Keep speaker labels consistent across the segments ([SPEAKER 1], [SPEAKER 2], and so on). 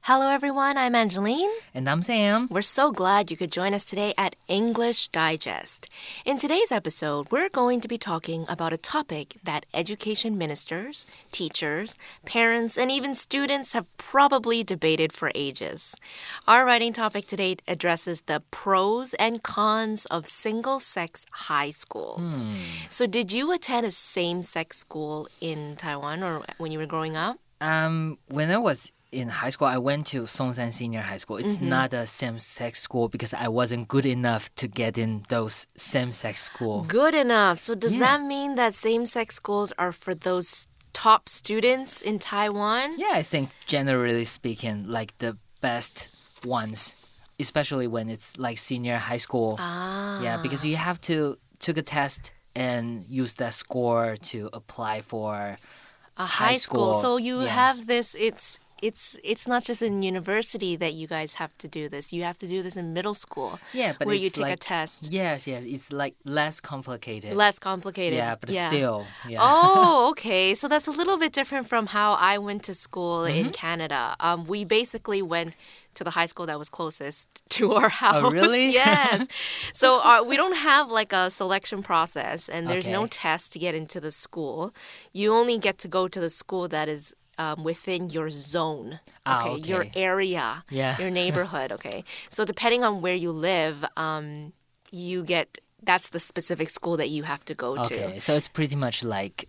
[SPEAKER 1] Hello everyone, I'm Angeline.
[SPEAKER 2] And I'm Sam.
[SPEAKER 1] We're so glad you could join us today at English Digest. In today's episode, we're going to be talking about a topic that education ministers, teachers, parents, and even students have probably debated for ages. Our writing topic today addresses the pros and cons of single-sex high schools. So did you attend a same-sex school in Taiwan or when you were growing up?
[SPEAKER 2] When I was in high school, I went to Songsan Senior High School. It's not a same-sex school because I wasn't good enough to get in those same-sex schools.
[SPEAKER 1] Good enough. So does that mean that same-sex schools are for those top students in Taiwan?
[SPEAKER 2] Yeah, I think generally speaking, like the best ones, especially when it's like senior high school. Yeah, because you have to take a test and use that score to apply for
[SPEAKER 1] a high school. So you have this, it's not just in university that you guys have to do this. You have to do this in middle school.
[SPEAKER 2] Yeah, but
[SPEAKER 1] where
[SPEAKER 2] it's
[SPEAKER 1] you take
[SPEAKER 2] like,
[SPEAKER 1] a test.
[SPEAKER 2] Yes, it's like less complicated.
[SPEAKER 1] Less complicated.
[SPEAKER 2] Yeah, but still. Yeah.
[SPEAKER 1] Oh, okay. So that's a little bit different from how I went to school in Canada. We basically went to the high school that was closest to our house.
[SPEAKER 2] Oh, really?
[SPEAKER 1] Yes. So we don't have like a selection process and there's no test to get into the school. You only get to go to the school that is within your zone, okay? Your area, your neighborhood, okay? So depending on where you live, that's the specific school that you have to go to.
[SPEAKER 2] Okay, so it's pretty much like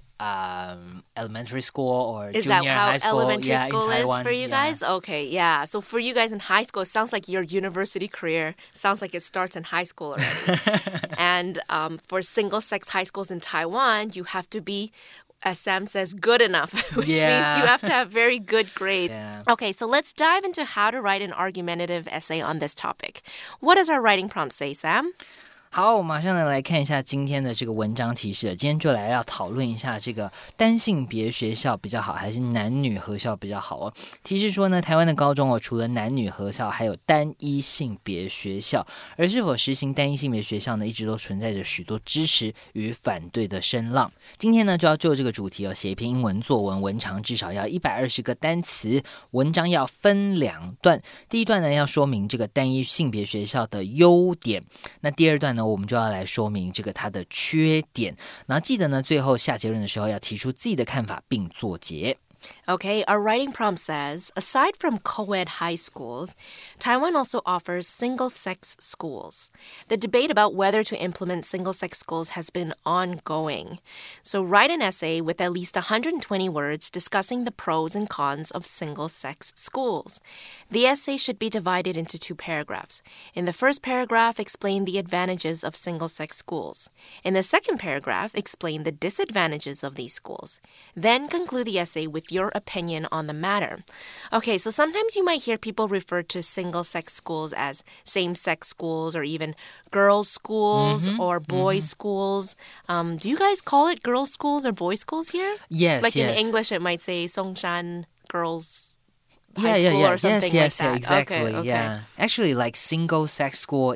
[SPEAKER 2] elementary school or
[SPEAKER 1] is
[SPEAKER 2] junior high school.
[SPEAKER 1] Is that how elementary school is for you guys?
[SPEAKER 2] Yeah.
[SPEAKER 1] Okay, yeah. So for you guys in high school, it sounds like your university career sounds like it starts in high school already. And for single-sex high schools in Taiwan, you have to be, as Sam says, good enough, which means you have to have very good grades.
[SPEAKER 2] Yeah.
[SPEAKER 1] Okay, so let's dive into how to write an argumentative essay on this topic. What does our writing prompt say, Sam?
[SPEAKER 2] 好，我马上来看一下今天的这个文章提示。今天就来要讨論一下這個單性別學校比較好，還是男女合校比較好哦。提示說呢，台灣的高中除了男女合校，還有單一性別學校。而是否實行單一性別學校呢，一直都存在着許多支持與反對的聲浪。今天呢，就要就這個主題寫一篇英文作文，文長至少要120個單詞，文章要分兩段。第一段呢，要說明這個單一性別學校的優點，那第二段呢，我們就要來說明這個它的缺點，然後記得呢，最後下結論的時候要提出自己的看法並作結。
[SPEAKER 1] Okay, our writing prompt says, aside from co-ed high schools, Taiwan also offers single-sex schools. The debate about whether to implement single-sex schools has been ongoing. So write an essay with at least 120 words discussing the pros and cons of single-sex schools. The essay should be divided into 2 paragraphs. In the first paragraph, explain the advantages of single-sex schools. In the second paragraph, explain the disadvantages of these schools. Then conclude the essay with your opinion on the matter. Okay, so sometimes you might hear people refer to single-sex schools as same-sex schools or even girls' schools or boys' schools. Do you guys call it girls' schools or boys' schools here?
[SPEAKER 2] Yes,
[SPEAKER 1] like
[SPEAKER 2] yes.
[SPEAKER 1] in English, it might say Songshan Girls' High School or something like that.
[SPEAKER 2] Exactly.
[SPEAKER 1] Okay.
[SPEAKER 2] Yeah. Actually, like single-sex school,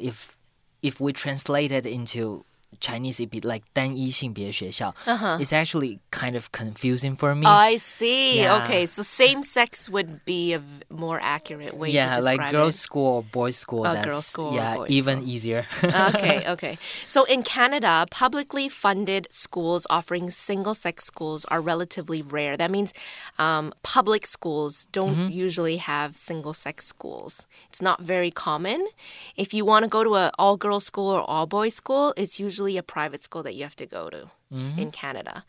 [SPEAKER 2] if we translate it into Chinese, it'd be like 单一性別學校. It's actually kind of confusing for me.
[SPEAKER 1] I see.
[SPEAKER 2] Yeah.
[SPEAKER 1] Okay, so same-sex would be a more accurate way to describe it.
[SPEAKER 2] Yeah, like girls' school or boys' school.
[SPEAKER 1] Oh, girls' school or boys'
[SPEAKER 2] even
[SPEAKER 1] school.
[SPEAKER 2] easier.
[SPEAKER 1] Okay. So in Canada, publicly funded schools offering single-sex schools are relatively rare. That means public schools don't usually have single-sex schools. It's not very common. If you want to go to an all-girls school or all-boys school, it's usually a private school that you have to go to in Canada.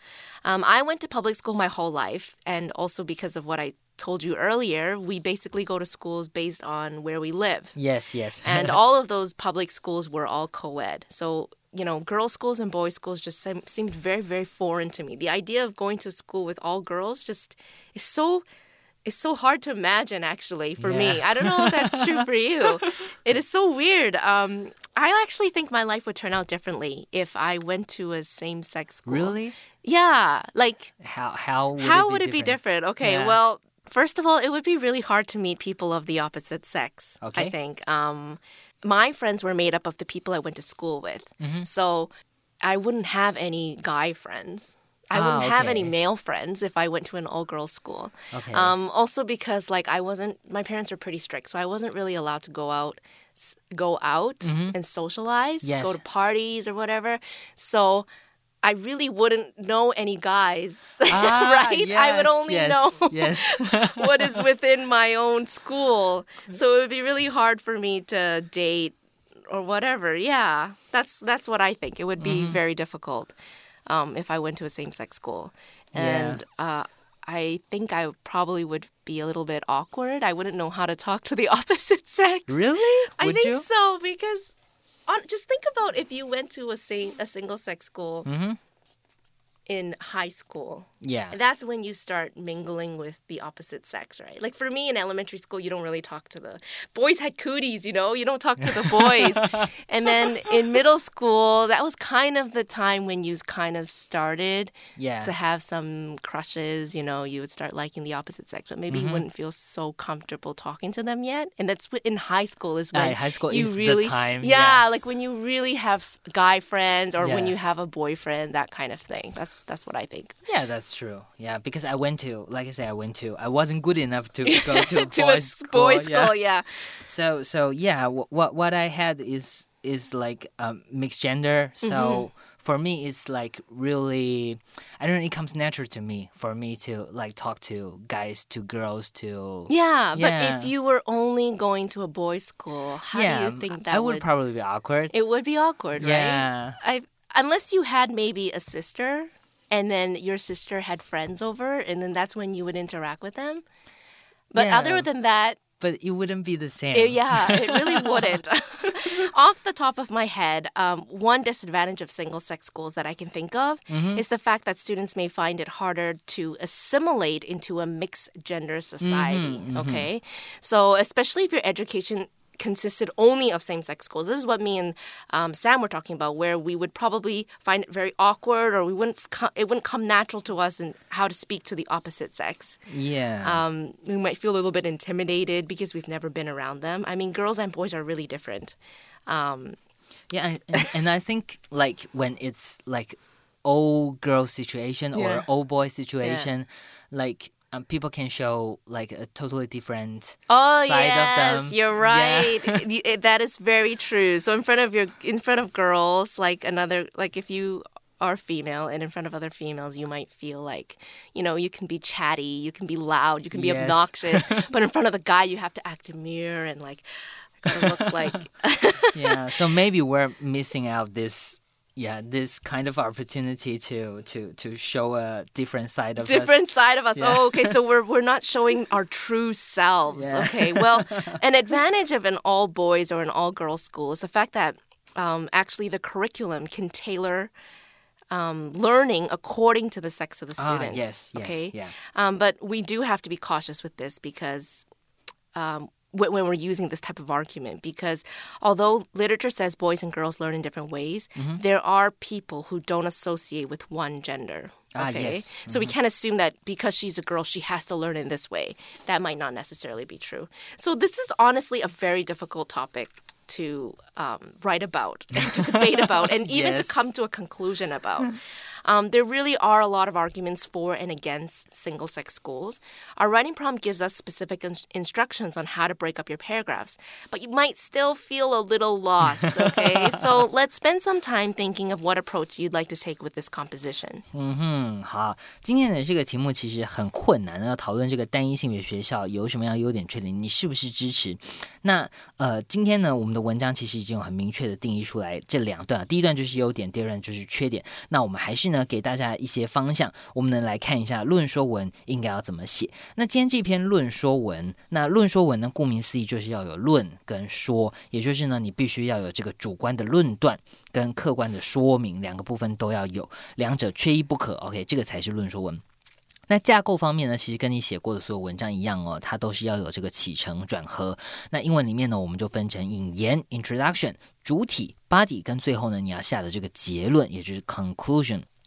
[SPEAKER 1] I went to public school my whole life, and also because of what I told you earlier, we basically go to schools based on where we live.
[SPEAKER 2] Yes.
[SPEAKER 1] And all of those public schools were all co-ed. So, you know, girls' schools and boys' schools just seemed very, very foreign to me. The idea of going to school with all girls just is so... It's so hard to imagine, actually, for me. I don't know if that's true for you. It is so weird. I actually think my life would turn out differently if I went to a same-sex school.
[SPEAKER 2] Really?
[SPEAKER 1] Yeah. Like,
[SPEAKER 2] how
[SPEAKER 1] would it be different? Okay, well, first of all, it would be really hard to meet people of the opposite sex, I think. My friends were made up of the people I went to school with. So I wouldn't have any guy friends. I wouldn't have any
[SPEAKER 2] okay.
[SPEAKER 1] male friends if I went to an all-girls school.
[SPEAKER 2] Okay.
[SPEAKER 1] Also because like my parents were pretty strict, so I wasn't really allowed to go out and socialize,
[SPEAKER 2] Yes.
[SPEAKER 1] go to parties or whatever. So I really wouldn't know any guys, right?
[SPEAKER 2] Yes,
[SPEAKER 1] I would only know
[SPEAKER 2] yes.
[SPEAKER 1] what is within my own school. So it would be really hard for me to date or whatever. Yeah, that's what I think. It would be very difficult if I went to a same-sex school. And I think I probably would be a little bit awkward. I wouldn't know how to talk to the opposite sex.
[SPEAKER 2] Really?
[SPEAKER 1] I think so because just think about if you went to a single-sex school in high school.
[SPEAKER 2] Yeah.
[SPEAKER 1] That's when you start mingling with the opposite sex, right? Like for me in elementary school, you don't really talk to the boys had cooties, you know? You don't talk to the boys. And then in middle school, that was kind of the time when you kind of started to have some crushes, you know? You would start liking the opposite sex, but maybe you wouldn't feel so comfortable talking to them yet. And that's in high school is when
[SPEAKER 2] high school
[SPEAKER 1] you
[SPEAKER 2] is
[SPEAKER 1] really,
[SPEAKER 2] the time.
[SPEAKER 1] Yeah, like when you really have guy friends or when you have a boyfriend, that kind of thing. That's what I think.
[SPEAKER 2] Yeah, that's true. Yeah, because I wasn't good enough to go to a
[SPEAKER 1] to
[SPEAKER 2] boys'
[SPEAKER 1] a boys' school,
[SPEAKER 2] yeah. So yeah, what I had is like mixed gender. So for me, it's like really, I don't know, it comes natural to me for me to like talk to guys, to girls, to
[SPEAKER 1] but if you were only going to a boys' school, how do you think that
[SPEAKER 2] I would probably be awkward.
[SPEAKER 1] It would be awkward,
[SPEAKER 2] Yeah.
[SPEAKER 1] right? Unless you had maybe a sister. And then your sister had friends over, and then that's when you would interact with them. But other than that...
[SPEAKER 2] But it wouldn't be the same.
[SPEAKER 1] It really wouldn't. Off the top of my head, one disadvantage of single-sex schools that I can think of is the fact that students may find it harder to assimilate into a mixed-gender society, okay? So especially if your education consisted only of same-sex schools. This is what me and Sam were talking about, where we would probably find it very awkward, or it wouldn't come natural to us in how to speak to the opposite sex.
[SPEAKER 2] Yeah.
[SPEAKER 1] We might feel a little bit intimidated because we've never been around them. I mean, girls and boys are really different.
[SPEAKER 2] Yeah, and I think like when it's like all girl situation or all boy situation, like people can show like a totally different side of them.
[SPEAKER 1] You're right. Yeah. That is very true. So in front of girls, like if you are female and in front of other females, you might feel like, you know, you can be chatty, you can be loud, you can be obnoxious, but in front of the guy, you have to act demure and like gotta look like.
[SPEAKER 2] Yeah. So maybe we're missing out this kind of opportunity to show a different side of us.
[SPEAKER 1] Different side of us.
[SPEAKER 2] Yeah.
[SPEAKER 1] Oh, okay. So we're not showing our true selves. Yeah. Okay. Well, an advantage of an all boys or an all girls school is the fact that actually the curriculum can tailor learning according to the sex of the student.
[SPEAKER 2] Yes.
[SPEAKER 1] Okay.
[SPEAKER 2] Yeah.
[SPEAKER 1] But we do have to be cautious with this because. When we're using this type of argument, because although literature says boys and girls learn in different ways, there are people who don't associate with one gender. Okay,
[SPEAKER 2] yes.
[SPEAKER 1] So we can't assume that because she's a girl, she has to learn in this way. That might not necessarily be true. So this is honestly a very difficult topic to write about, and to debate about, and even to come to a conclusion about. There really are a lot of arguments for and against single-sex schools. Our writing prompt gives us specific instructions on how to break up your paragraphs, but you might still feel a little lost, okay? So let's spend some time thinking of what approach you'd like to take with this composition.
[SPEAKER 2] 好，今天的这个题目其實很困難，要討論這個單一性別學校有什麼樣優點缺點，你是不是支持？那今天呢，我們的文章其實已經有很明確的定義出來這兩段，第一段就是優點，第二段就是缺點。那我們還是呢給大家一些方向，我們能來看一下論說文應該要怎麼寫。那今天這篇論說文，那論說文呢，顧名思義就是要有論跟說，也就是呢，你必須要有這個主觀的論斷跟客觀的說明，兩個部分都要有，兩者缺一不可。OK， 這個才是論說文。那架構方面呢，其實跟你寫過的所有文章一樣哦，它都是要有這個起承轉合。那英文裡面呢，我們就分成引言 （introduction）、主體 （body） 跟最後呢，你要下的這個結論，也就是 conclusion。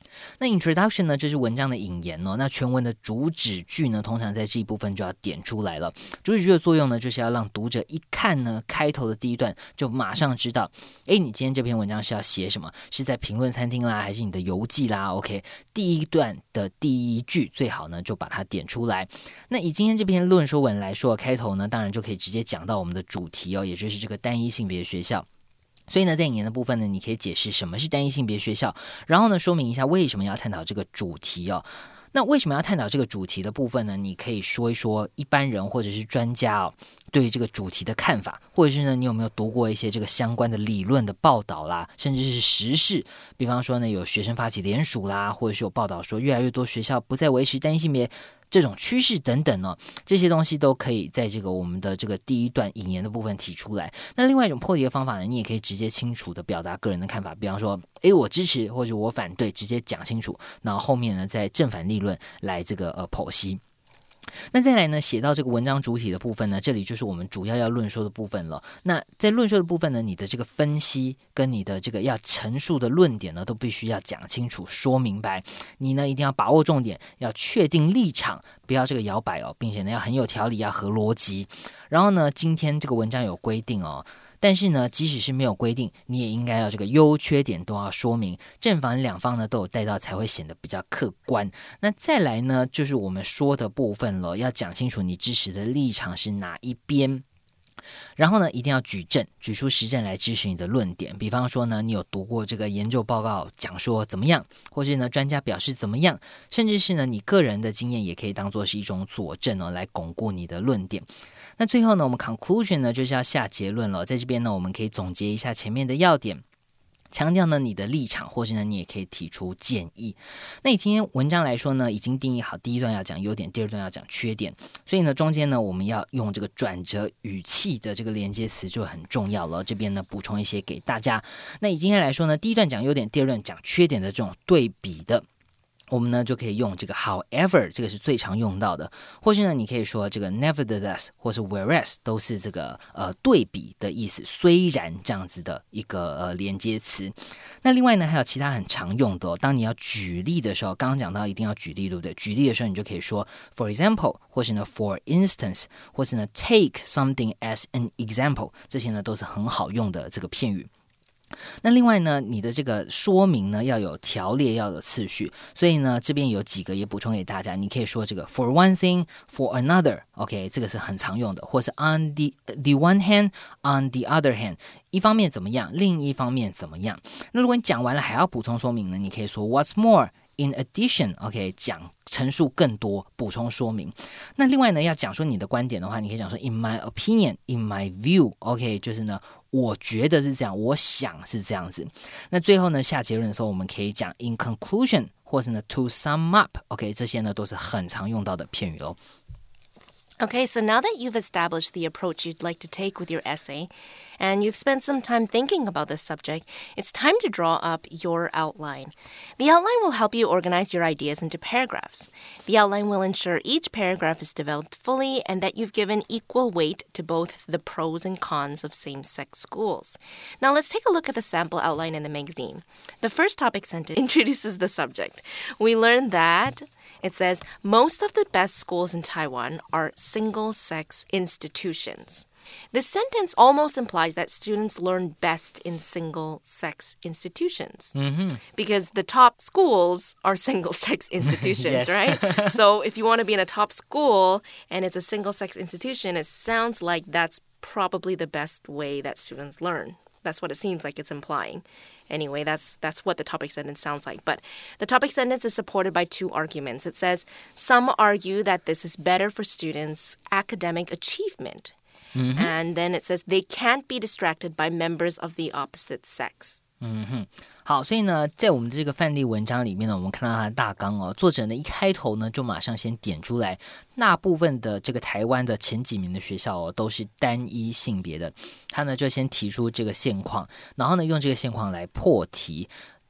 [SPEAKER 2] 那 introduction 呢，就是文章的引言哦。那全文的主旨句呢，通常在這一部分就要點出來了。主旨句的作用呢，就是要讓讀者一看呢，開頭的第一段就馬上知道，誒，你今天這篇文章是要寫什麼？是在評論餐廳啦，還是你的遊記啦 ？OK， 第一段的第一句最好呢，就把它點出來。那以今天這篇論說文來說，開頭呢，當然就可以直接講到我們的主題哦，也就是這個單一性別學校。所以呢，在引言的部分呢，你可以解釋什麼是單一性別學校，然後呢，說明一下為什麼要探討這個主題哦。那為什麼要探討這個主題的部分呢？你可以說一說一般人或者是專家哦，對於這個主題的看法，或者是呢，你有沒有讀過一些這個相關的理論的報道啦，甚至是時事，比方說呢，有學生發起聯署啦，或者是有報道說越來越多學校不再維持單一性別這種趨勢等等呢，這些東西都可以在這個我們的這個第一段引言的部分提出來。那另外一種破題的方法呢，你也可以直接清楚的表達個人的看法，比方說，我支持或者我反對，直接講清楚，然後後面呢再正反立論來這個剖析。那再來呢，寫到這個文章主體的部分呢，這裡就是我們主要論說的部分了。那在論說的部分呢，你的這個分析跟你的這個要陳述的論點呢，都必須要講清楚、說明白。你呢一定要把握重點，要確定立場，不要這個搖擺哦，並且呢要很有條理，要合邏輯。然後呢，今天這個文章有規定哦。但是呢，即使是沒有規定，你也應該要這個優缺點都要說明，正反兩方呢都有帶到，才會顯得比較客觀。那再來呢，就是我們說的部分了，要講清楚你支持的立場是哪一邊。然後呢，一定要舉證，舉出實證來支持你的論點。比方說呢，你有讀過這個研究報告講說怎麼樣，或是呢專家表示怎麼樣，甚至是呢你個人的經驗也可以當作是一種佐證哦，來鞏固你的論點。那最後呢，我們 conclusion 呢就是要下結論了。在這邊呢，我們可以總結一下前面的要點。強調呢你的立場，或是呢你也可以提出建議。那以今天文章來說呢，已經定義好第一段要講優點，第二段要講缺點，所以呢中間呢我們要用這個轉折語氣的這個連接詞就很重要了。這邊呢補充一些給大家。那以今天來說呢，第一段講優點，第二段講缺點的這種對比的，我們呢就可以用這個 however， 這個是最常用到的，或是呢你可以說這個 nevertheless 或是 whereas 都是這個對比的意思，雖然這樣子的一個連接詞。那另外呢還有其他很常用的當你要舉例的時候，剛剛講到一定要舉例，對不對？舉例的時候你就可以說 for example， 或是呢 for instance， 或是呢 take something as an example， 這些呢都是很好用的這個片語。那另外呢，你的這個說明呢要有條列，要有次序，所以呢這邊有幾個也補充給大家。你可以說這個 for one thing, for another，OK， 這個是很常用的，或是 on the one hand, on the other hand， 一方面怎麼樣，另一方面怎麼樣。那如果你講完了還要補充說明呢，你可以說 what's more。In addition, OK， 講陳述更多，補充說明。那另外呢，要講說你的觀點的話，你可以講說 In my opinion, in my view, OK， 就是呢，我覺得是這樣，我想是這樣子。那最後呢，下結論的時候，我們可以講 In conclusion， 或是呢 To sum up, OK， 這些呢都是很常用到的片語哦。
[SPEAKER 1] Okay, so now that you've established the approach you'd like to take with your essay, and you've spent some time thinking about this subject, it's time to draw up your outline. The outline will help you organize your ideas into paragraphs. The outline will ensure each paragraph is developed fully and that you've given equal weight to both the pros and cons of same-sex schools. Now let's take a look at the sample outline in the magazine. The first topic sentence introduces the subject. We learned that it says, most of the best schools in Taiwan are single-sex institutions. This sentence almost implies that students learn best in single-sex institutions. Because the top schools are single-sex institutions, right? So if you want to be in a top school and it's a single-sex institution, it sounds like that's probably the best way that students learn. That's what it seems like it's implying. Anyway, that's what the topic sentence sounds like. But the topic sentence is supported by two arguments. It says, some argue that this is better for students' academic achievement. And then it says, they can't be distracted by members of the opposite sex.
[SPEAKER 2] 好，所以呢，在我們的這個範例文章裡面呢，我們看到它的大綱哦，作者呢一開頭呢就馬上先點出來，大部分的這個台灣的前幾名的學校哦都是單一性別的，他呢就先提出這個現況，然後呢用這個現況來破題。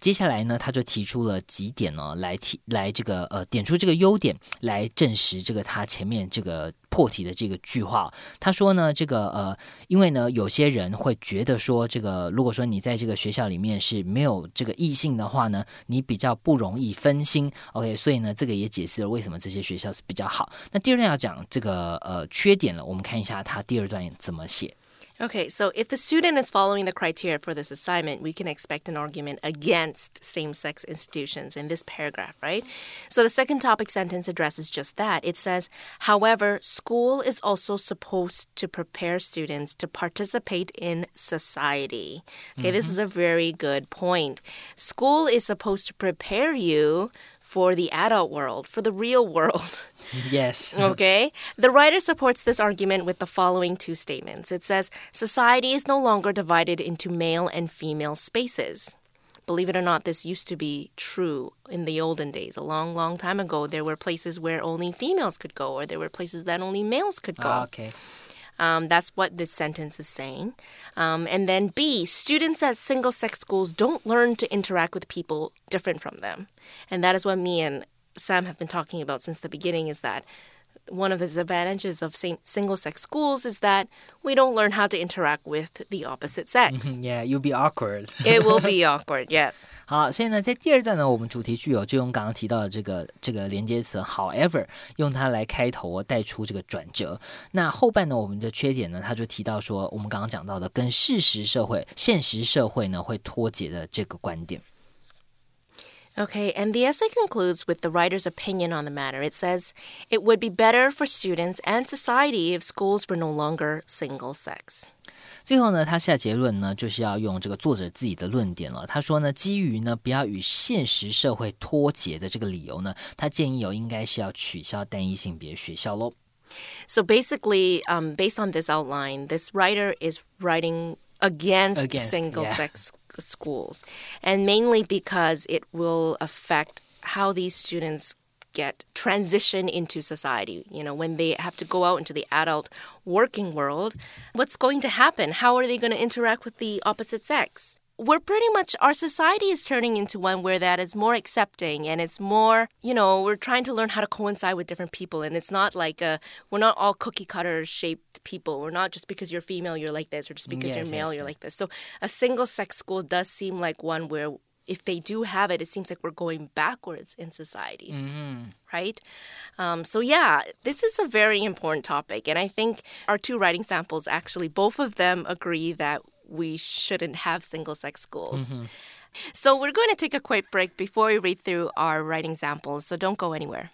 [SPEAKER 2] 接下來呢，他就提出了幾點呢，來這個點出這個優點，來證實這個他前面這個破題的這個句話。他說呢，這個因為呢，有些人會覺得說，這個如果說你在這個學校裡面是沒有這個異性的話呢，你比較不容易分心。OK， 所以呢，這個也解釋了為什麼這些學校是比較好。那第二段要講這個缺點了，我們看一下他第二段怎麼寫。
[SPEAKER 1] Okay, so if the student is following the criteria for this assignment, we can expect an argument against same-sex institutions in this paragraph, right? So the second topic sentence addresses just that. It says, however, school is also supposed to prepare students to participate in society. Okay, this is a very good point. School is supposed to prepare you for the adult world, for the real world.
[SPEAKER 2] Yes.
[SPEAKER 1] Okay. The writer supports this argument with the following two statements. It says, society is no longer divided into male and female spaces. Believe it or not, this used to be true in the olden days. A long, long time ago, there were places where only females could go, or there were places that only males could go.
[SPEAKER 2] Okay.
[SPEAKER 1] That's what this sentence is saying. And then B, students at single-sex schools don't learn to interact with people different from them. And that is what me and Sam have been talking about since the beginning, is that one of the disadvantages of single-sex schools is that we don't learn how to interact with the opposite sex.
[SPEAKER 2] Yeah, you'll be awkward.
[SPEAKER 1] It will be awkward, yes.
[SPEAKER 2] 好，所以呢，在第二段呢，我們主題句就用剛剛提到的這個連接詞 however， 用它來開頭帶出這個轉折。那後半呢，我們的缺點呢，他就提到說，我們剛剛講到的跟現實社會呢會脫節的這個觀點。
[SPEAKER 1] Okay, and the essay concludes with the writer's opinion on the matter. It says, it would be better for students and society if schools were no longer single-sex.
[SPEAKER 2] 最後呢，他下結論呢，就是要用這個作者自己的論點了。他說呢，基於呢不要與現實社會脫節的這個理由呢，他建議應該是要取消單一性別學校咯。
[SPEAKER 1] So basically, based on this outline, this writer is writing against single-sex schools, and mainly because it will affect how these students get transition into society. You know, when they have to go out into the adult working world, what's going to happen? How are they going to interact with the opposite sex? Our society is turning into one where that is more accepting, and it's more, we're trying to learn how to coincide with different people, and it's not like we're not all cookie cutter shaped people. We're not just because you're female, you're like this, or just because you're male, you're like this. So a single sex school does seem like one where if they do have it, it seems like we're going backwards in society, right? So yeah, this is a very important topic, and I think our two writing samples, actually, both of them agree that we shouldn't have single-sex schools. So we're going to take a quick break before we read through our writing samples, so don't go anywhere.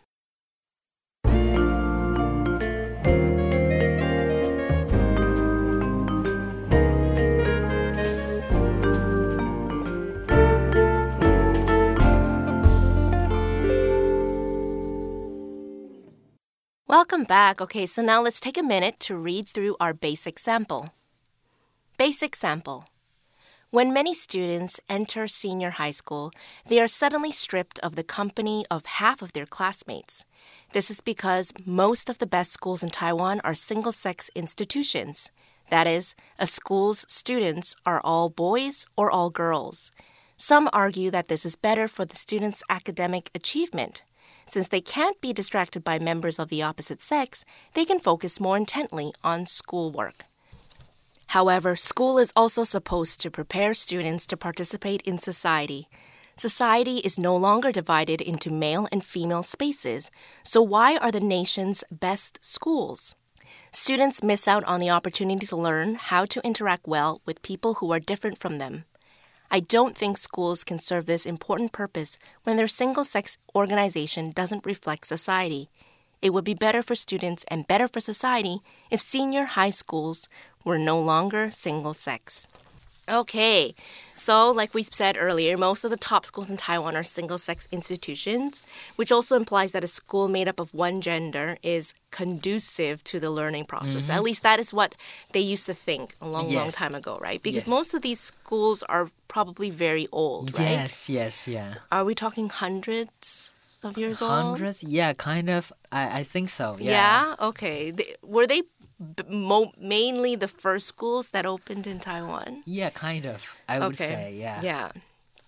[SPEAKER 1] Welcome back. Okay, so now let's take a minute to read through our basic sample. Basic sample. When many students enter senior high school, they are suddenly stripped of the company of half of their classmates. This is because most of the best schools in Taiwan are single-sex institutions. That is, a school's students are all boys or all girls. Some argue that this is better for the students' academic achievement. Since they can't be distracted by members of the opposite sex, they can focus more intently on schoolwork. However, school is also supposed to prepare students to participate in society. Society is no longer divided into male and female spaces, so why are the nation's best schools? Students miss out on the opportunity to learn how to interact well with people who are different from them. I don't think schools can serve this important purpose when their single-sex organization doesn't reflect society. It would be better for students and better for society if senior high schools were no longer single-sex. Okay, so like we said earlier, most of the top schools in Taiwan are single-sex institutions, which also implies that a school made up of one gender is conducive to the learning process. At least that is what they used to think a long time ago, right? Because most of these schools are probably very old, right?
[SPEAKER 2] Yes, yeah.
[SPEAKER 1] Are we talking hundreds of years old?
[SPEAKER 2] Hundreds? Yeah, kind of. I think so, yeah.
[SPEAKER 1] Yeah? Okay. Were they mainly the first schools that opened in Taiwan?
[SPEAKER 2] Yeah, kind of. I would say, yeah.
[SPEAKER 1] Yeah.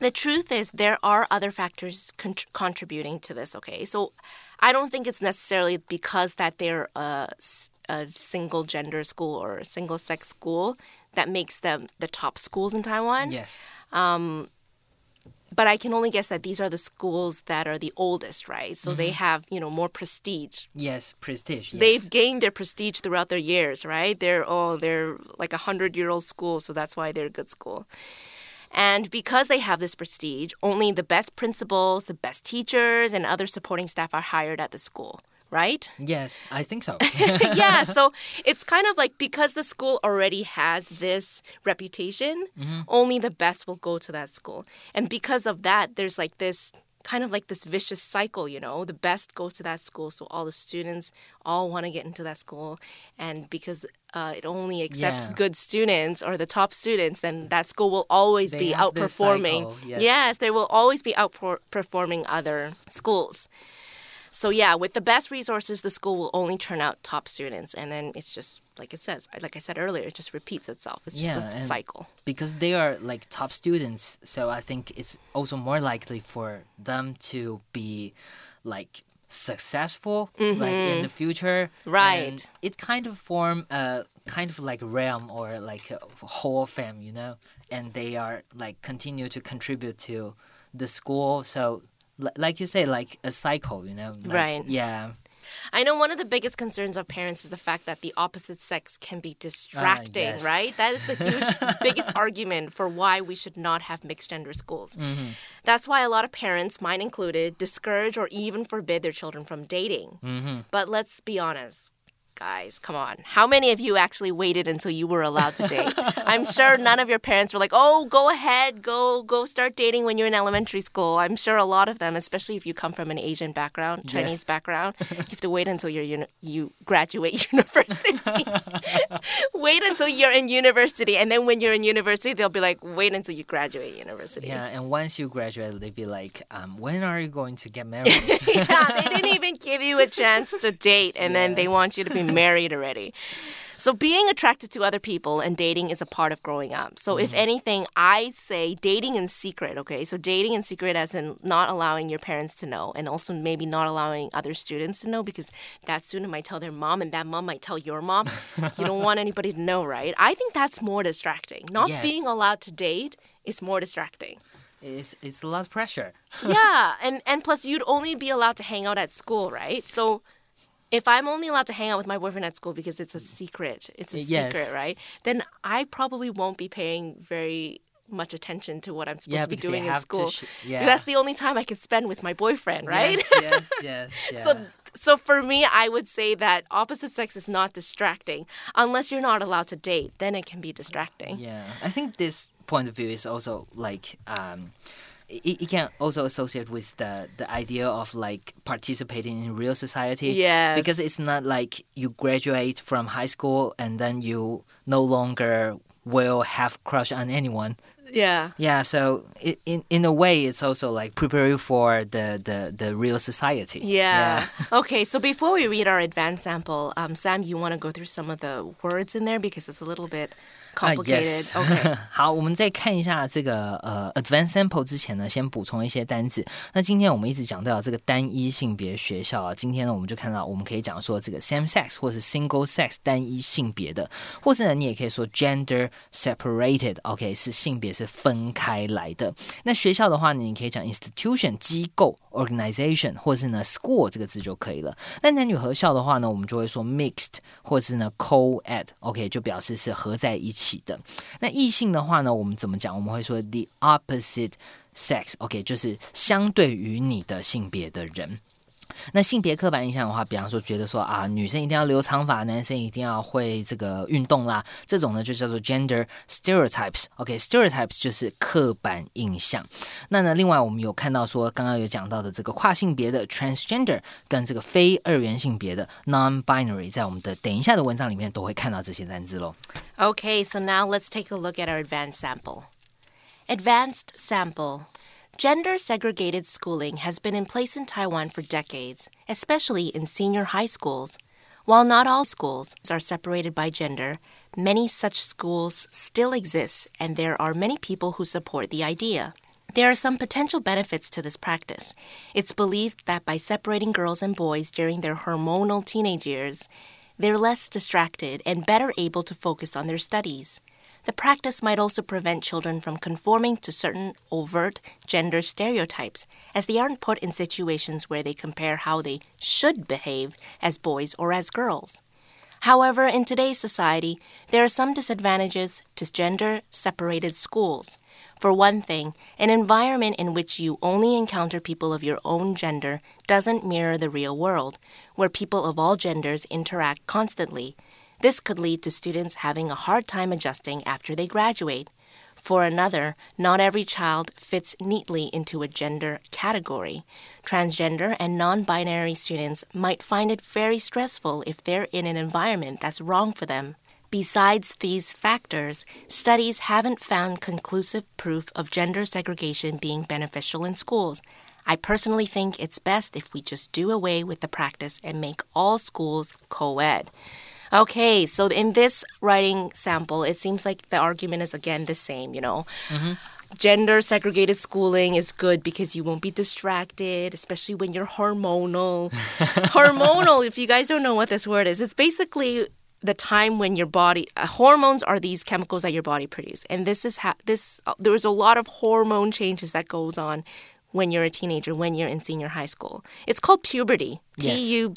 [SPEAKER 1] The truth is there are other factors contributing to this, okay? So I don't think it's necessarily because that they're a single gender school or a single sex school that makes them the top schools in Taiwan.
[SPEAKER 2] Yes.
[SPEAKER 1] But I can only guess that these are the schools that are the oldest, right? So they have, more prestige.
[SPEAKER 2] Yes, prestige. Yes.
[SPEAKER 1] They've gained their prestige throughout their years, right? They're like a 100-year-old school, so that's why they're a good school. And because they have this prestige, only the best principals, the best teachers, and other supporting staff are hired at the school, right?
[SPEAKER 2] Yes, I think so.
[SPEAKER 1] Yeah, so it's kind of like because the school already has this reputation, only the best will go to that school. And because of that, there's like this kind of like this vicious cycle, the best go to that school, so all the students all want to get into that school, and because it only accepts good students or the top students, then that school will always be outperforming. Yes, they will always be outperforming other schools. So yeah, with the best resources, the school will only turn out top students, and then it's just like I said earlier, it just repeats itself. It's just a cycle.
[SPEAKER 2] Because they are like top students, so I think it's also more likely for them to be like successful like in the future.
[SPEAKER 1] Right.
[SPEAKER 2] And it kind of form a kind of like realm or like a hall of fame, and they are like continue to contribute to the school. So like you say, like a cycle,
[SPEAKER 1] Right.
[SPEAKER 2] Yeah.
[SPEAKER 1] I know one of the biggest concerns of parents is the fact that the opposite sex can be distracting,
[SPEAKER 2] yes.
[SPEAKER 1] right? That is the biggest argument for why we should not have mixed gender schools. That's why a lot of parents, mine included, discourage or even forbid their children from dating. But let's be honest. Guys, come on. How many of you actually waited until you were allowed to date? I'm sure none of your parents were like, oh, go ahead, go start dating when you're in elementary school. I'm sure a lot of them, especially if you come from an Asian background, Chinese background, you have to wait until you graduate university. Wait until you're in university. And then when you're in university, they'll be like, wait until you graduate university.
[SPEAKER 2] Yeah, and once you graduate, they'll be like, when are you going to get married?
[SPEAKER 1] Yeah, they didn't even give you a chance to date, and then they want you to be married already. So being attracted to other people and dating is a part of growing up. So if anything, I say dating in secret, okay? So dating in secret as in not allowing your parents to know, and also maybe not allowing other students to know, because that student might tell their mom and that mom might tell your mom. You don't want anybody to know, right? I think that's more distracting. Not being allowed to date is more distracting.
[SPEAKER 2] It's a lot of pressure.
[SPEAKER 1] Yeah, and plus you'd only be allowed to hang out at school, right? So if I'm only allowed to hang out with my boyfriend at school because it's a secret, secret, right? Then I probably won't be paying very much attention to what I'm supposed to be doing in school. That's the only time I can spend with my boyfriend, right?
[SPEAKER 2] Yes. Yeah.
[SPEAKER 1] So for me, I would say that opposite sex is not distracting. Unless you're not allowed to date, then it can be distracting.
[SPEAKER 2] Yeah, I think this point of view is also like it can also associate with the idea of like participating in real society.
[SPEAKER 1] Yes.
[SPEAKER 2] Because it's not like you graduate from high school and then you no longer will have crush on anyone.
[SPEAKER 1] Yeah.
[SPEAKER 2] Yeah, so in a way, it's also like prepare you for the real society.
[SPEAKER 1] Yeah. Okay, so before we read our advanced sample, Sam, you want to go through some of the words in there because it's a little bit complicated.
[SPEAKER 2] Yes.
[SPEAKER 1] Okay.
[SPEAKER 2] 好，我们在看一下这个advanced sample 之前呢，先补充一些单字。那今天我们一直讲到这个单一性别学校啊，今天呢我们就看到我们可以讲说这个 same sex 或是 single sex 单一性別的，或是呢你也可以說 gender separated，OK 是性別是分開來的。那學校的話呢，你可以講 institution 機構 organization， 或是呢 school 這個字就可以了。那男女合校的話呢，我們就會說 mixed 或是呢 co-ed，OK 就表示是合在一起。那異性的話呢，我們怎麼講？我們會說 the opposite sex，OK， 就是相對於你的性別的人。那性別刻板印象的話，比方說覺得說啊，女生一定要留長髮，男生一定要會這個運動啦，這種呢就叫做 gender stereotypes。OK，stereotypes 就是刻板印象。那呢，另外我們有看到說，剛剛有講到的這個跨性別的 transgender 跟這個非二元性別的 non-binary， 在我們的等一下的文章裡面都會看到這些單字咯。
[SPEAKER 1] Okay, so now let's take a look at our advanced sample. Advanced sample.Gender segregated schooling has been in place in Taiwan for decades, especially in senior high schools. While not all schools are separated by gender, many such schools still exist, and there are many people who support the idea. There are some potential benefits to this practice. It's believed that by separating girls and boys during their hormonal teenage years, they're less distracted and better able to focus on their studies. The practice might also prevent children from conforming to certain overt gender stereotypes, as they aren't put in situations where they compare how they should behave as boys or as girls. However, in today's society, there are some disadvantages to gender-separated schools. For one thing, an environment in which you only encounter people of your own gender doesn't mirror the real world, where people of all genders interact constantly. This could lead to students having a hard time adjusting after they graduate. For another, not every child fits neatly into a gender category. Transgender and non-binary students might find it very stressful if they're in an environment that's wrong for them. Besides these factors, studies haven't found conclusive proof of gender segregation being beneficial in schools. I personally think it's best if we just do away with the practice and make all schools co-ed. Okay, so in this writing sample, it seems like the argument is again the same, Gender segregated schooling is good because you won't be distracted, especially when you're hormonal. Hormonal, if you guys don't know what this word is, it's basically the time when your body hormones are these chemicals that your body produces, and there's a lot of hormone changes that goes on when you're a teenager, when you're in senior high school. It's called puberty.
[SPEAKER 2] Yes.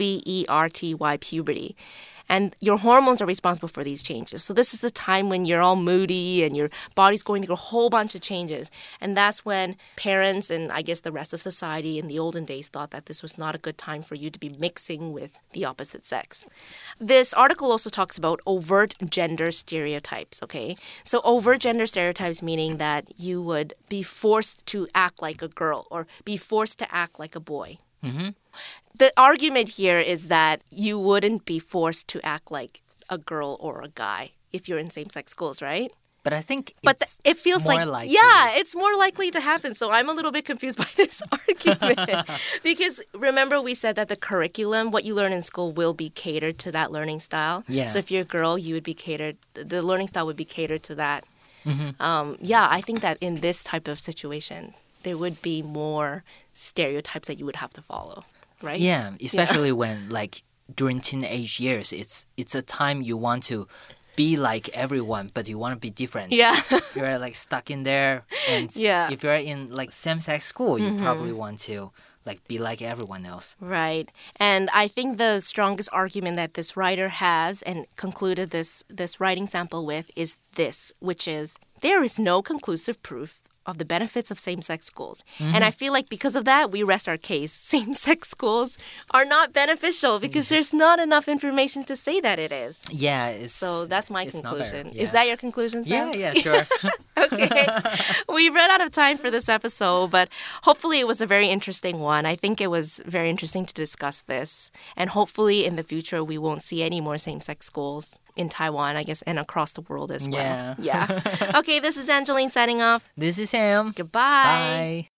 [SPEAKER 1] Puberty, puberty. And your hormones are responsible for these changes. So this is the time when you're all moody and your body's going through a whole bunch of changes. And that's when parents and I guess the rest of society in the olden days thought that this was not a good time for you to be mixing with the opposite sex. This article also talks about overt gender stereotypes, okay? So overt gender stereotypes meaning that you would be forced to act like a girl or be forced to act like a boy.
[SPEAKER 2] Mm-hmm.
[SPEAKER 1] The argument here is that you wouldn't be forced to act like a girl or a guy if you're in same-sex schools, right?
[SPEAKER 2] But I think
[SPEAKER 1] it feels
[SPEAKER 2] more
[SPEAKER 1] like
[SPEAKER 2] likely.
[SPEAKER 1] Yeah, it's more likely to happen. So I'm a little bit confused by this argument because remember we said that the curriculum, what you learn in school, will be catered to that learning style.
[SPEAKER 2] Yeah.
[SPEAKER 1] So if you're a girl, you would be catered. The learning style would be catered to that.
[SPEAKER 2] Mm-hmm.
[SPEAKER 1] I think that in this type of situation, there would be more stereotypes that you would have to follow. Right?
[SPEAKER 2] Yeah, especially when during teenage years, it's a time you want to be like everyone, but you want to be different.
[SPEAKER 1] Yeah.
[SPEAKER 2] You're stuck in there, and if you're in same-sex school, you probably want to be like everyone else.
[SPEAKER 1] Right. And I think the strongest argument that this writer has and concluded this writing sample with is this, which is there is no conclusive proof of the benefits of same-sex schools. Mm-hmm. And I feel like because of that, we rest our case. Same-sex schools are not beneficial because there's not enough information to say that it is.
[SPEAKER 2] Yeah.
[SPEAKER 1] So that's my conclusion.
[SPEAKER 2] Yeah.
[SPEAKER 1] Is that your conclusion, Sam?
[SPEAKER 2] Yeah, sure.
[SPEAKER 1] Okay. We've run out of time for this episode, but hopefully it was a very interesting one. I think it was very interesting to discuss this. And hopefully in the future, we won't see any more same-sex schools in Taiwan, I guess, and across the world as well.
[SPEAKER 2] Yeah.
[SPEAKER 1] Okay, this is Angeline signing off.
[SPEAKER 2] This is Sam.
[SPEAKER 1] Goodbye.
[SPEAKER 2] Bye.